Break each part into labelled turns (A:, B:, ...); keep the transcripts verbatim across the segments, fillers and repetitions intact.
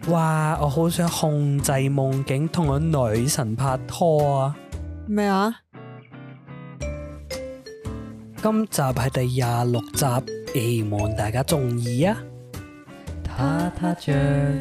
A: 哇！我好想控制夢境，同個女神拍拖啊！
B: 咩啊？
A: 今集係第廿六集，希望大家中意啊！他他醬，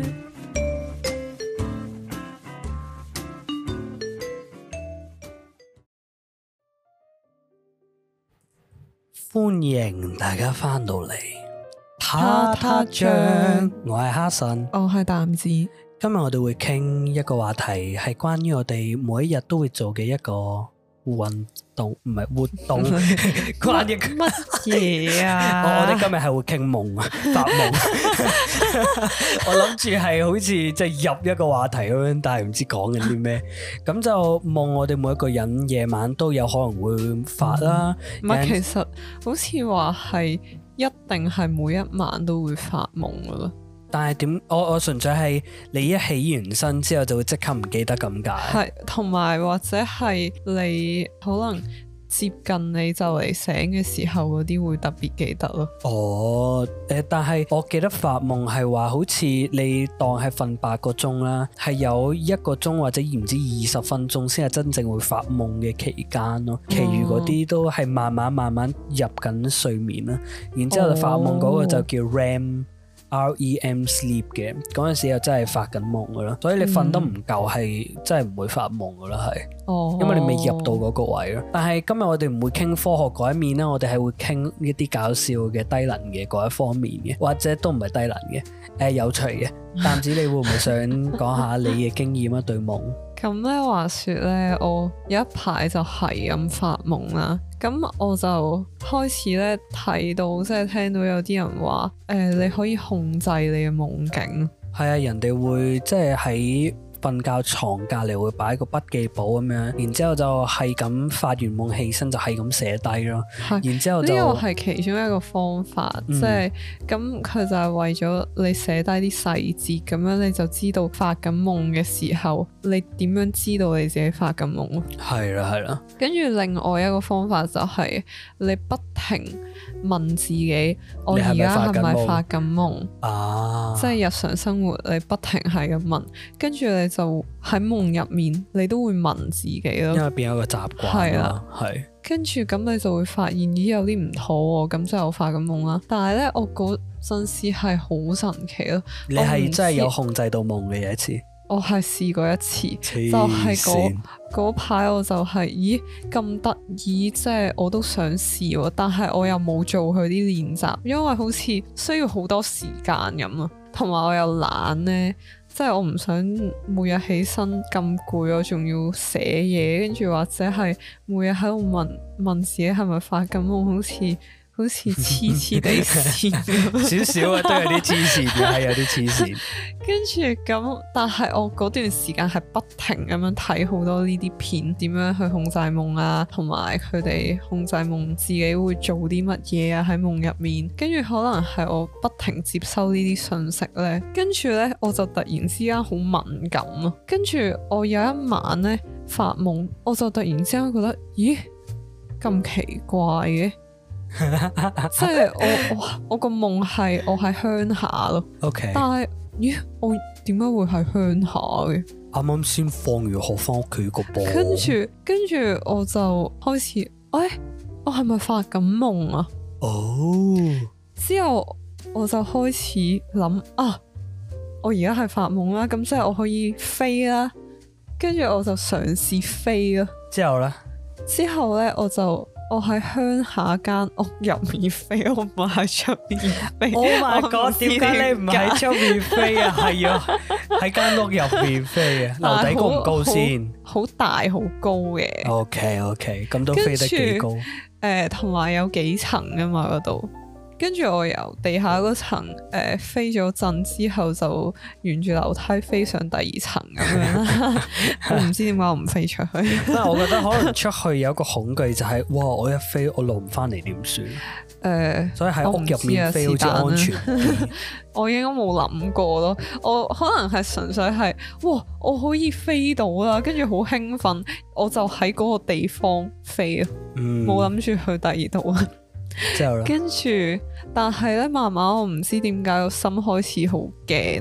A: 歡迎大家翻到嚟。他他醬，我係哈臣，
B: 我係淡子。
A: 今日我哋會傾一個話題，係關於我哋每一日都會做嘅一個運動，唔係活動。關於
B: 乜嘢啊？
A: 我我哋今日係會傾夢啊，發夢。我諗住係好似即係入一個話題咁樣，但係唔知講緊啲咩。咁就夢，我哋每一個人夜晚都有可能會發啦。
B: 唔係、嗯，其實好似話係。一定係每一晚都會發夢噶咯，
A: 但係點？我我純粹係你一起完身之後就會即刻唔記得咁解。
B: 係，同埋或者係你可能接近你就嚟醒嘅時候嗰啲會特別記得咯。
A: 哦，誒、呃，但係我記得發夢係話好似你當係瞓八個鐘啦，係有一個鐘或者唔知二十分鐘先係真正會發夢嘅期間咯，其餘嗰啲都係慢慢慢慢入緊睡眠啦，然之後就發夢嗰個就叫 R E M。R E M sleep 嘅嗰陣時又真係發緊夢噶啦，所以你瞓得唔夠係真係唔會發夢噶啦，係，哦、因為你未入到嗰個位咯。但係今日我哋唔會傾科學嗰一面啦，我哋係會傾一啲搞笑嘅低能嘅嗰一方面嘅，或者都唔係低能嘅，誒、呃、有趣嘅。淡子你會唔會想講下你嘅經驗啊？對夢？
B: 咁咧話說咧，我有一排就係咁發夢啦，咁我就開始咧睇到，即係聽到有啲人話，誒、呃，你可以控制你嘅夢境。係
A: 啊，人哋會即係喺瞓覺床隔籬會擺個筆記簿咁樣，然之後就係咁發完夢起身就係咁寫低咯。然之後就
B: 呢個係其中一個方法，即係咁佢就係為咗你寫低啲細節，咁樣你就知道發緊夢嘅時候，你點樣知道你自己發緊夢咯。係啦係啦。跟住另外一個方法就係你不停問自己，我而家係咪發緊夢啊？即係日常生活你不停係咁問，跟住你就喺夢入面，你都會問自己咯，
A: 因為變咗個習慣。係啦，係。
B: 跟住咁你就會發現咦有啲唔妥喎，咁就我發緊夢啦。但係咧，我嗰陣時係好神奇咯。
A: 你係真係有控制到夢嘅有一次？
B: 我係試過一次，就係嗰嗰排我就係、是、咦咁得意，即係我都想試喎，但係我又冇做佢啲練習，因為好似需要好多時間咁啊，同埋我又懶咧。即係我唔想每日起身咁攰，我仲要寫嘢，跟住或者係每日喺度問問自己係咪發緊夢，好似好似黐黐地線
A: 少少啊，都有啲黐線嘅，係有啲黐線。
B: 跟住咁，但係我嗰段時間係不停咁樣睇好多呢啲片，點樣去控制夢啊，同埋佢哋控制夢自己會做啲乜嘢啊喺夢入面。跟住可能係我不停接收呢啲信息咧，跟住咧我就突然之間好敏感咯。跟住我有一晚咧發夢，我就突然之間覺得，咦咁奇怪嘅。即係我我我個夢係我喺鄉下咯，Okay. 但係咦我點解會喺鄉下嘅？
A: 啱啱先放完學翻屋企個波，
B: 跟住跟住我就開始，誒、哎、我係咪發緊夢啊？哦，oh. 之後我就開始諗啊，我而家係發夢啦，咁即係我可以飛啦，跟住我就嘗試飛咯。
A: 之後咧？
B: 之後咧我就。我喺鄉下間屋入面飛，我唔係喺出邊飛。
A: Oh my god！點解你唔喺出面飛啊？係要喺間屋入面飛啊？樓底高唔高先？
B: 好大好高嘅。
A: OK OK，咁都飛得幾高？
B: 誒，同埋有幾層㗎嘛嗰度。跟住我由地下嗰層誒、呃、飛咗陣之後，就沿住樓梯飛上第二層咁樣啦。我唔知點解我唔飛出去。
A: 但係我覺得可能出去有一個恐懼就係、是，哇！我一飛我落唔翻嚟點算？誒，呃、所以喺屋入面飛好似安全。
B: 我，我應該冇諗過咯。我可能係純粹係，哇！我可以飛到啦，跟住好興奮，我就喺嗰個地方飛啊，冇諗住去第二度啊。之後咧，跟住，但係咧，慢慢我唔知點解個心開始好驚咯。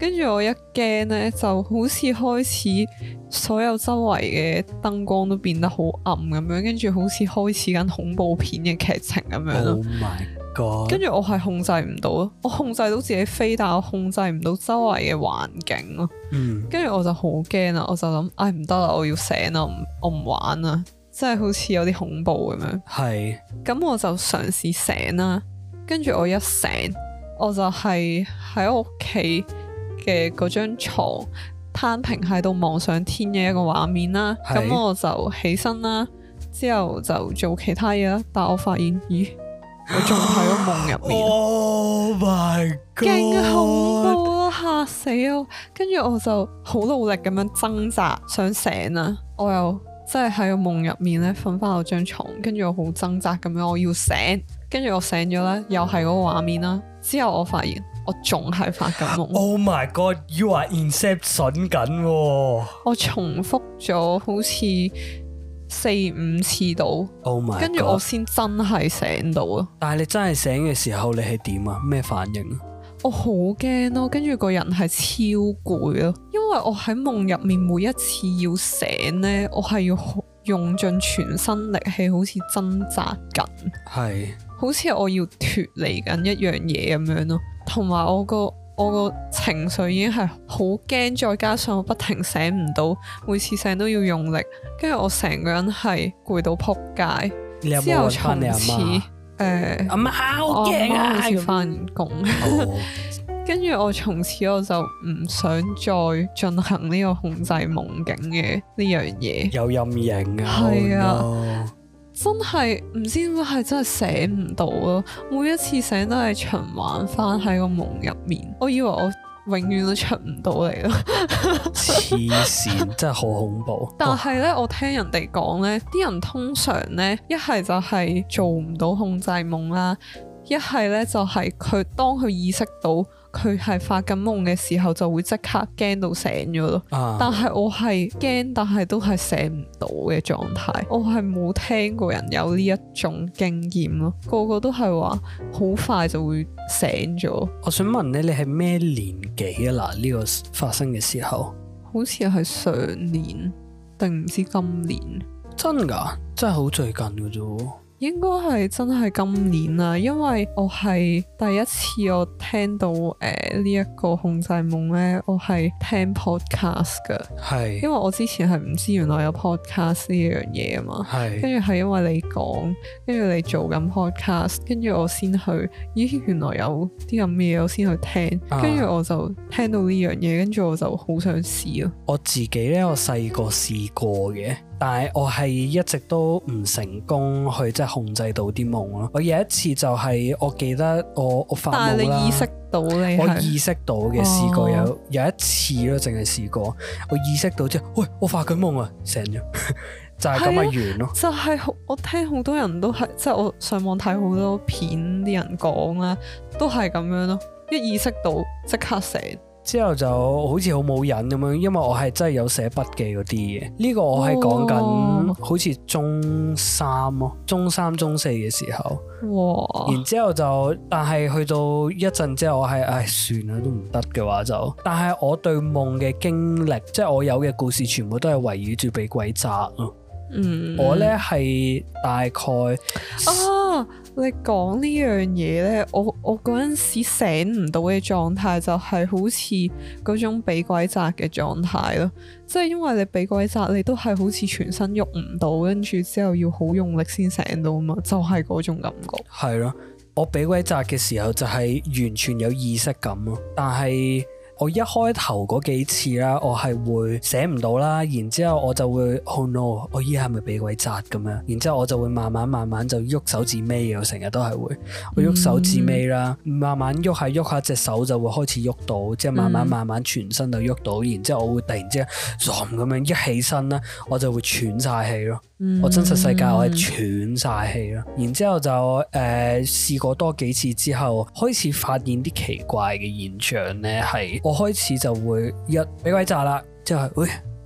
B: 跟住我一驚咧，就好似開始所有周圍嘅燈光都變得好暗咁樣，跟住好似開始緊恐怖片嘅劇情咁樣咯。
A: Oh my god！跟
B: 住我係控制唔到咯，我控制到自己飛，但我控制唔到周圍嘅環境咯。嗯，跟住我就好驚啦，我就諗，唉唔得啦，我要醒啦，我唔玩啦，真係好似有啲恐怖咁樣。係，咁我就嘗試醒啦，跟住我一醒，我就係喺屋企嘅嗰張床攤平喺度望上天嘅一個畫面啦，咁我就起身啦，之後就做其他嘢啦，但我發現，咦，我仲喺個夢入面。Oh my god！勁恐怖咯，嚇死我！跟住我就好努力咁樣掙扎想醒啦，我又真係喺個夢入面咧瞓翻我張床，跟住我好掙扎咁樣，我要醒，跟住我醒咗咧，又係嗰個畫面啦，之後我發現。我仲係發緊夢。Oh my god! You are Inception 緊。我重複咗好似四五次到。Oh my god！跟住我先真係醒到啊！但係你真係醒嘅時候，你係點啊？咩反應啊？我好驚咯，跟住個人係超攰咯，因為我喺夢入面每一次要醒呢，我係要用盡全身力氣，好似掙扎緊，係，好似我要脫離緊一樣嘢咁樣咯。同埋我個我個情緒已經係好驚，再加上我不停醒唔到，每次醒都要用力，跟住我成個人係攰到撲街。你有冇揾返你阿媽？誒，阿媽好驚啊！好似返工，跟住我從此我就唔想再進行呢個控制夢境嘅呢樣嘢。有陰影啊！係啊。Oh no. 真係唔知點解係真係醒唔到咯，每一次醒都係循環翻喺個夢入面，我以為我永遠都出唔到嚟咯。黐線，真係好恐怖。但係呢，我聽人哋講呢啲人通常呢，一係就係做唔到控制夢啦，一係呢就係佢當佢意識到佢係發緊夢嘅時候，就會即刻驚到醒咗咯。啊、但係我係驚，但係都係醒唔到嘅狀態。我係冇聽過人有呢一種經驗咯，個個都係話好快就會醒咗。我想問咧，你係咩年紀啊？嗱，呢個發生嘅時候，好似係上年定唔知今年？真㗎，真係好最近嘅啫。應該係真係今年啦，因為我係第一次我聽到誒呢一個控制夢咧，我係聽 podcast 㗎，係因為我之前係唔知原來有 podcast 呢樣嘢啊嘛，係跟住係因為你講，跟住你做緊 podcast，跟住我先去，咦原來有啲咁嘅嘢，我先去聽，跟住、啊、我就聽到呢樣嘢，跟住我就好想試咯。我自己咧，我細個試過嘅。但係我係一直都唔成功去即係控制到啲夢咯。我有一次就係我記得我我發夢啦。但係你意識到你我意識到嘅試過有、哦、有一次咯，淨係試過。我意識到之後，喂，我發緊夢啊，醒咗，就係咁嘅完咯。就係、是、我聽好多人都係，即係我上網睇好多片啲人講啦，都係咁樣咯。一意識到即刻醒。之後就好似好冇癮咁樣，因為我係真係有寫筆記嗰啲嘅。呢、這個我係講緊好似中三咯，中三中四嘅時候。哇！然之後就，但係去到一陣之後，我係唉算啦，都唔得嘅話就。但係我對夢嘅經歷，即係我有嘅故事，全部都係圍繞住俾鬼壓咯。嗯，我呢係大概啊，你講呢樣嘢呢，我我嗰陣時醒唔到嘅狀態就係好似嗰種俾鬼壓嘅狀態咯，即係因為你俾鬼壓，你都係好似全身喐唔到，跟住之後要好用力先醒到嘛，就係嗰種感覺。係咯，我俾鬼壓嘅時候就係完全有意識感咯，但係。我一開頭嗰幾次啦，我係會醒唔到啦，然之後我就會 oh no，我依家係咪俾鬼壓咁樣？然之後我就會慢慢慢慢就喐手指尾，我成日都係會我喐手指尾啦，嗯、慢慢喐下喐下隻手就會開始喐到，即係慢慢慢慢全身就喐到，然之後我會突然之間咁樣一起身啦，我就會喘晒氣咯。嗯、我真實世界我係喘晒氣咯，然之後就誒試、呃、過多幾次之後，開始發現啲奇怪嘅現象咧，係我開始就會一俾鬼壓啦，之後喂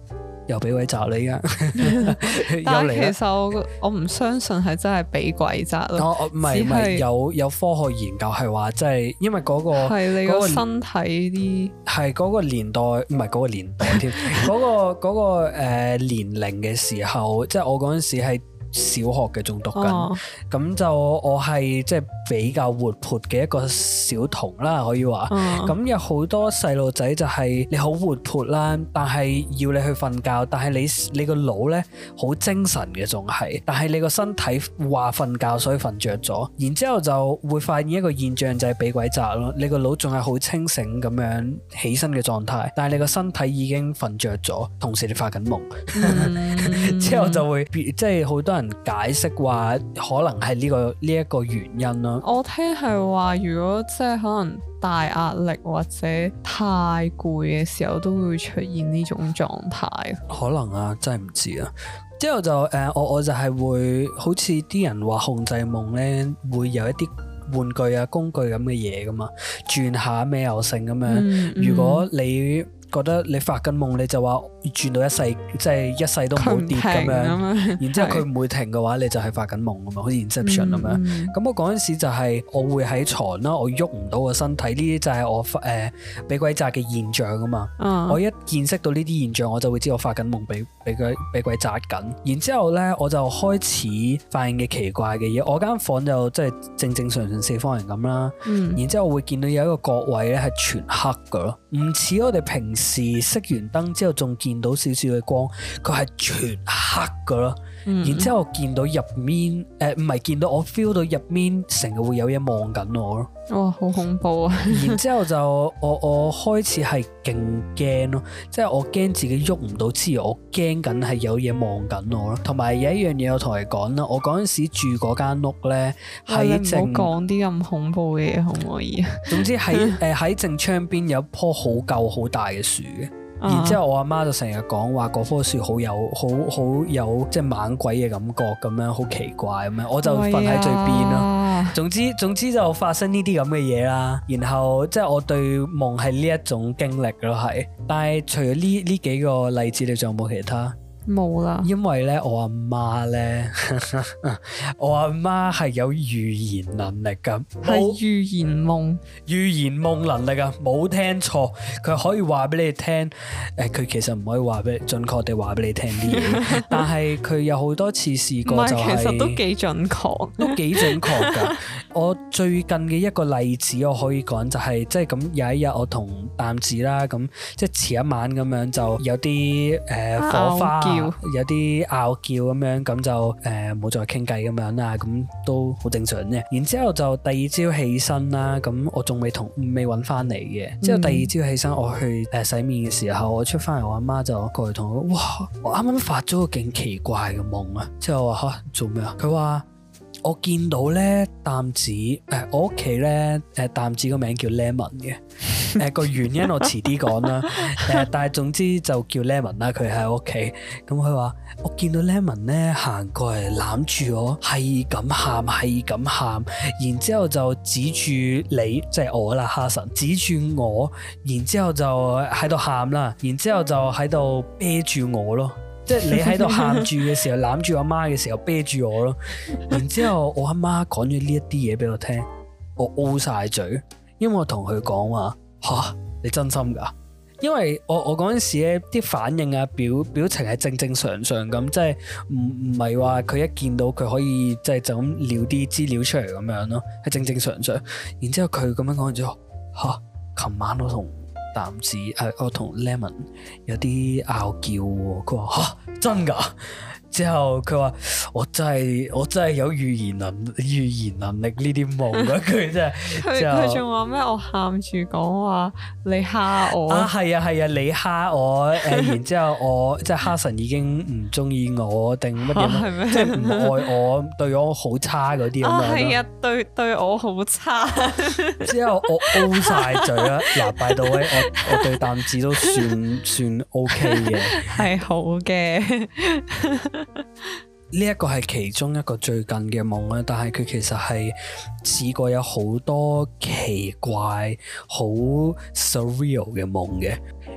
A: 又俾鬼責你啊！
B: 但係其實我我唔相信係真係俾鬼責咯。
A: 哦，唔係唔係，有有科學研究係話，即係因為嗰個
B: 係你個身體啲
A: 係嗰個年代，唔係嗰個年代添，嗰個嗰個誒年齡嘅時候，即係我嗰陣時係小學嘅仲讀緊，咁、哦、就我係即係比較活潑嘅一個小童啦，可以話。咁、哦、有好多細路仔就係你好活潑啦，但係要你去瞓覺，但係你你個腦咧好精神嘅仲係，但係你個身體話瞓覺所以瞓着咗，然之後就會發現一個現象就係俾鬼責咯，你個腦仲係好清醒咁樣起身嘅狀態，但係你個身體已經瞓着咗，同時你發緊夢，嗯、之後就會即係好多人解釋話可能係呢個呢一個原因咯。
B: 我聽係話如果即係可能大壓力或者太攰嘅時候都會出現呢種狀態。可
A: 能啊，真係唔知啊。之後就誒、呃，我我就係會好似啲人話控制夢咧，會有一啲玩具啊工具咁嘅嘢噶嘛，轉下咩又成咁樣。嗯嗯、如果你覺得你發緊夢，你就話轉到一世，即係一世都唔好跌咁樣，然之後佢唔會停嘅話，你就係發緊夢啊嘛，好似 Inception 咁樣。咁、嗯、我嗰陣時就係我會喺床啦，我喐唔到個身體，呢啲就係我誒俾、呃、鬼責嘅現象啊嘛。嗯、我一見識到呢啲現象，我就會知我發緊夢，俾俾鬼俾鬼責緊。然之後咧，我就開始發現嘅奇怪嘅嘢。我間房就即係正正常常四方形咁啦。嗯、然之後我會見到有一個角位咧係全黑噶咯，唔似我哋平時熄完燈之後仲見到少少嘅光，佢係全黑噶咯。嗯、然之後見到入面，誒唔係見到我 feel 到入面成日會有嘢望緊我咯。
B: 哇，好恐怖啊！
A: 然之後就我我開始係勁驚咯，即係我驚自己喐唔到之餘，我驚緊係有嘢望緊我咯。同埋有一樣嘢我同你講啦，我嗰陣時住嗰間屋咧，喺正，
B: 唔好講啲咁恐怖嘅嘢，可唔可以啊？
A: 總之喺誒喺正窗邊有一棵好舊好大嘅樹嘅。然之後我阿媽就成日講話嗰棵樹好有好好有即係猛鬼嘅感覺咁樣，好奇怪咁樣，我就瞓喺最邊咯。哎、總之總之就發生呢啲咁嘅嘢啦。然後即係我對夢係呢一種經歷咯，係。但係除咗呢呢幾個例子，你仲有冇其他？
B: 冇啦，
A: 因為咧我阿媽咧，我阿媽係有預言能力噶，
B: 係預言夢，
A: 預言夢能力啊，冇聽錯，佢可以話俾你聽，誒、呃，佢其實唔可以話俾準確地話俾你聽啲嘢，但係佢有好多次試過就係、是，
B: 其實都幾準確，
A: 都幾準確噶。我最近嘅一個例子我可以講就係、是，即係咁有一日我同淡子啦，咁即係前一晚咁樣就有啲誒、呃、火花。有啲拗撬咁樣，咁就誒冇、呃、再傾偈咁樣啦，咁都好正常啫。然之後就第二朝起身啦，咁我仲未同未揾翻嚟嘅。之後第二朝起身，我去誒洗面嘅時候，我出翻嚟，我阿媽就過嚟同我，哇！我啱啱發咗個勁奇怪嘅夢啊！之後我話吓，做咩啊？佢話我見到咧淡子誒、呃，我屋企咧誒淡子個名叫 Lemon 嘅。誒個、呃、原因我遲啲講啦，誒、呃、但係總之就叫 Lemon 啦，佢喺屋企。咁佢話我見到 Lemon 咧行過嚟攬住我，係咁喊，係咁喊，然之後就指住你，即係我啦，哈神指住我，然之後就喺度喊啦，然之後就喺度啤住我咯，即係你喺度喊住嘅時候攬住阿媽嘅時候啤住我咯，然之後我阿媽講咗呢一啲嘢俾我聽，我 O 晒嘴，因為我同佢講話。吓，你真心噶？因為我我嗰陣時咧啲反應啊表表情係正正常常咁，即係唔唔係話佢一見到佢可以即係就咁撩啲資料出嚟咁樣咯，係正正常常。然之後佢咁樣講完之後，吓，琴晚我同淡子誒、呃，我同 Lemon 有啲拗撬喎。佢話吓，真噶？之後佢話我真係我真係有預言能預言能力呢啲夢啊！佢真係
B: 佢佢仲話咩？我喊住講話你蝦我
A: 啊！係啊係啊，你蝦我誒、呃，然之後我即係哈神已經唔中意我定乜嘢？即係唔愛我，對我好差嗰啲咁樣咯。
B: 係啊，對對我好差。
A: 之後我 O 晒嘴啦，嗱，by the way，我我對淡子都算算 OK 嘅，
B: 係好嘅。
A: 呢一個係其中一個最近嘅夢啦，但係佢其實係試過有好多奇怪、好 surreal 嘅夢嘅。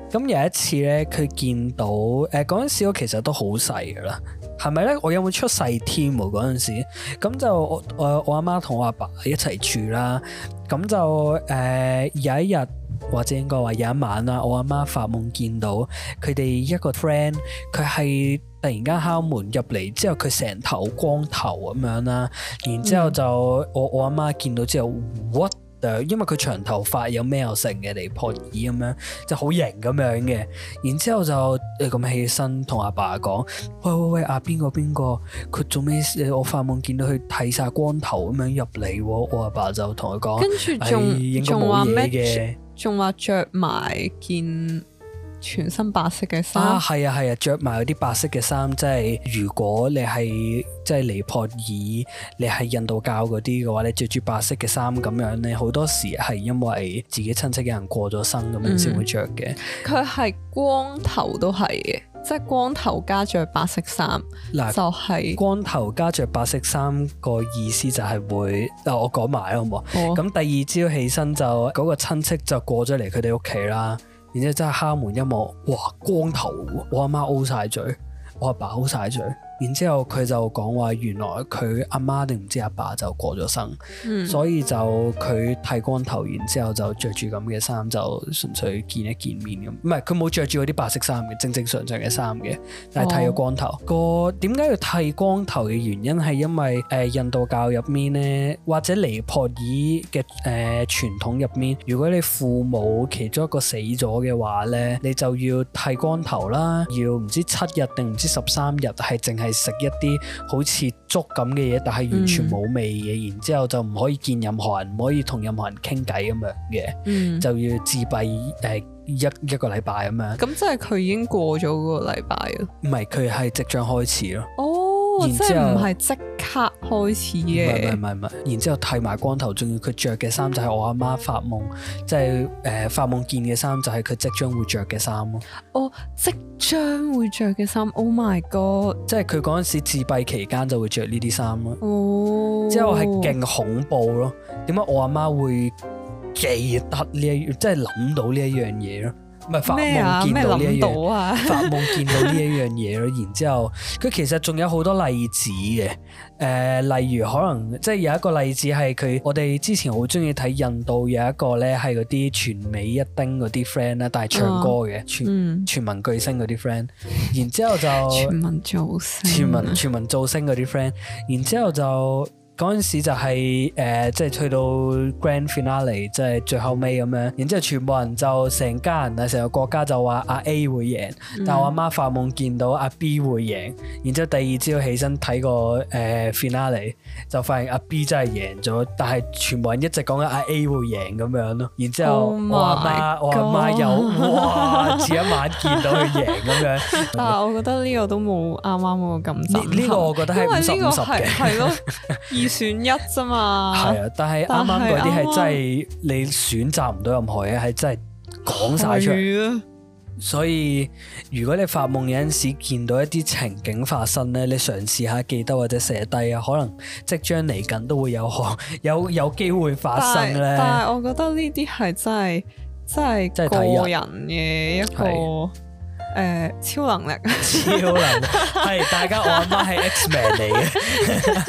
A: 咁有一次咧，佢見到誒嗰陣時我其實都好細噶啦，係咪咧？我有冇出世添喎嗰陣時？咁就我我我阿媽同我阿爸一齊住啦。咁就誒、呃、有一日或者應該話有一晚啦，我阿媽發夢見到佢哋一個 friend，佢係突然間敲門入嚟，之後佢成頭光頭咁樣啦，然之後就、嗯、我我阿媽見到之後 what？因為佢長頭髮有咩又成嘅尼泊爾咁樣，就好型咁樣嘅。然之後就誒咁起身同阿爸講：喂喂喂，阿邊個邊個？佢做咩？我發夢見到佢剃晒光頭咁樣入嚟。我阿爸就同佢講：
B: 跟住仲仲話咩？仲話着埋件全身白色嘅衫
A: 啊，係啊係啊，着埋嗰啲白色嘅衫，即係如果你係即係尼泊爾，你係印度教嗰啲嘅話，你着住白色嘅衫咁樣咧，好多時係因為自己親戚嘅人過咗身咁樣先會着嘅。佢係、
B: 嗯、光頭都係嘅，即係光頭加着白色衫，
A: 嗱
B: 就係、是、
A: 光頭加着白色衫個意思就係會，嗱我講埋啦好唔好？咁、哦、第二朝起身就嗰、嗰個親戚就過咗嚟佢哋屋企啦。然之後真係敲門一望，哇光頭！我阿媽 O 晒嘴，我阿爸 O 晒嘴。然之後佢就講話，原來佢阿媽定唔知阿爸就過咗身，嗯、所以就佢剃光頭，然之後就着住咁嘅衫，就純粹見一見面咁。唔係佢冇着住嗰啲白色衫嘅，正正常常嘅衫嘅，但係剃咗光頭。哦、個點解要剃光頭嘅原因係因為誒、呃、印度教入面咧，或者尼泊爾嘅誒傳統入面，如果你父母其中一個死咗嘅話咧，你就要剃光頭啦，要唔知七日定唔知十三日係淨係食一啲好似粥咁嘅嘢，但係完全冇味嘅，嗯、然之後就唔可以見任何人，唔可以同任何人傾偈咁樣嘅，嗯、就要自閉誒、呃、一一個禮拜咁樣。咁
B: 即係佢已經過咗嗰個禮拜啊？
A: 唔係，佢係即將開始咯。
B: 哦，然之後唔係即刻開始嘅。
A: 唔係唔係唔係，然之後剃埋光頭，仲要佢着嘅衫就係我阿媽發夢，即係誒發夢見嘅衫就係佢即將會着嘅衫咯。
B: 哦，即將會着嘅衫 ，Oh my god！
A: 即係佢嗰陣時自閉期間就會着呢啲衫咯。
B: 哦，
A: 之後係勁恐怖咯。點解我阿媽會記得呢一，即係諗到呢一樣嘢咯？唔係發夢見到呢一樣，
B: 啊、
A: 發夢見到呢一樣嘢咯。然之後佢其實仲有好多例子嘅。誒、呃，例如可能即係有一個例子係佢，我哋之前好中意睇印度有一個咧係嗰啲全美一丁嗰啲 friend 啦，但係唱歌嘅、哦、全、嗯、全民巨星嗰啲 friend。然之後就
B: 全民造星，
A: 全民全民造星嗰啲 friend。然之後就。嗰陣時就係、是、誒、呃，即係去到 Grand Finale，即係最後尾咁樣，然之後全部人就成家人啊，成個國家就話阿 A 會贏，嗯、但係我阿媽發夢見到阿 B 會贏，然之後第二朝起身睇個誒 Finale，就發現阿 B 真係贏咗，但係全部人一直講緊阿 A 會贏咁樣咯，然之後、oh、我阿媽我阿媽又哇，前一晚見到佢贏咁樣，
B: 但係我覺得呢個都冇啱啱嗰個咁震撼，
A: 呢、這個我覺得係五十五十嘅，
B: 係咯。選一啫嘛，
A: 係啊，但係啱啱嗰啲係真係你選擇唔到任何嘢，係真係講晒出嚟。所以如果你發夢有陣時見到一啲情景發生咧，你嘗試下記得或者寫低啊，可能即將嚟緊都會有有有機會發生咧。
B: 但係我覺得呢啲係真係真係個人嘅一個。誒、呃，超能力，
A: 超能力係大家，我阿媽係 X-Man 嚟嘅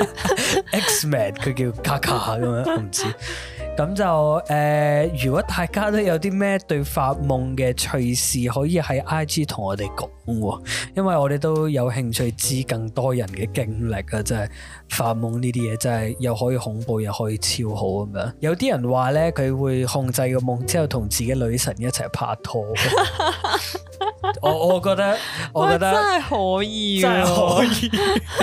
A: ，X-Man 佢叫卡卡咁樣，我唔知。咁就誒、呃，如果大家都有啲咩對發夢嘅趣事，可以喺 I G 同我哋講，因為我哋都有興趣知更多人嘅經歷啊！真係發夢呢啲嘢真係又可以恐怖又可以超好咁樣。有啲人話咧，佢會控制個夢之後同自己女神一齊拍拖。我我覺得我覺得
B: 真係可以，
A: 真係可以，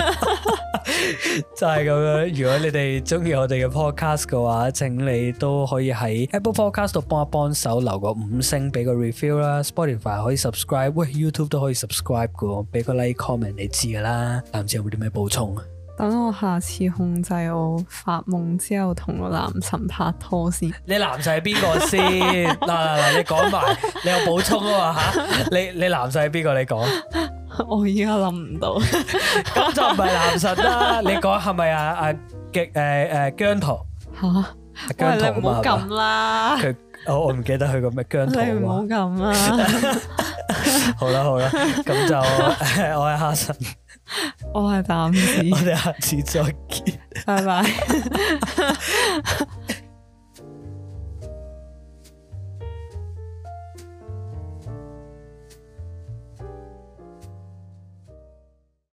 A: 就係咁樣。如果你哋中意我哋嘅 podcast 嘅話，請你都可以喺 Apple Podcast 度幫一幫手，留個五星，俾個 review 啦。Spotify 可以 subscribe，喂 YouTube 都可以 subscribe 嘅，俾個 like comment 你知噶啦。但唔知有冇啲咩補充啊？
B: 等我下次控制我發夢之後同個男神拍拖先。你
A: 男神係邊個先？嗱嗱嗱，你講埋，你有補充啊嘛吓？你你男神係邊個？你講。
B: 我依家諗唔到。
A: 咁就唔係男神啦。你講係咪啊啊極誒誒姜濤？
B: 吓？姜濤啊嘛。喂，你唔好咁啦。佢
A: 我我唔記得佢個咩姜濤。
B: 你唔好咁啊！
A: 好啦好啦，咁就我係哈臣，
B: 我係淡子，
A: 我哋下次再見，
B: 拜拜。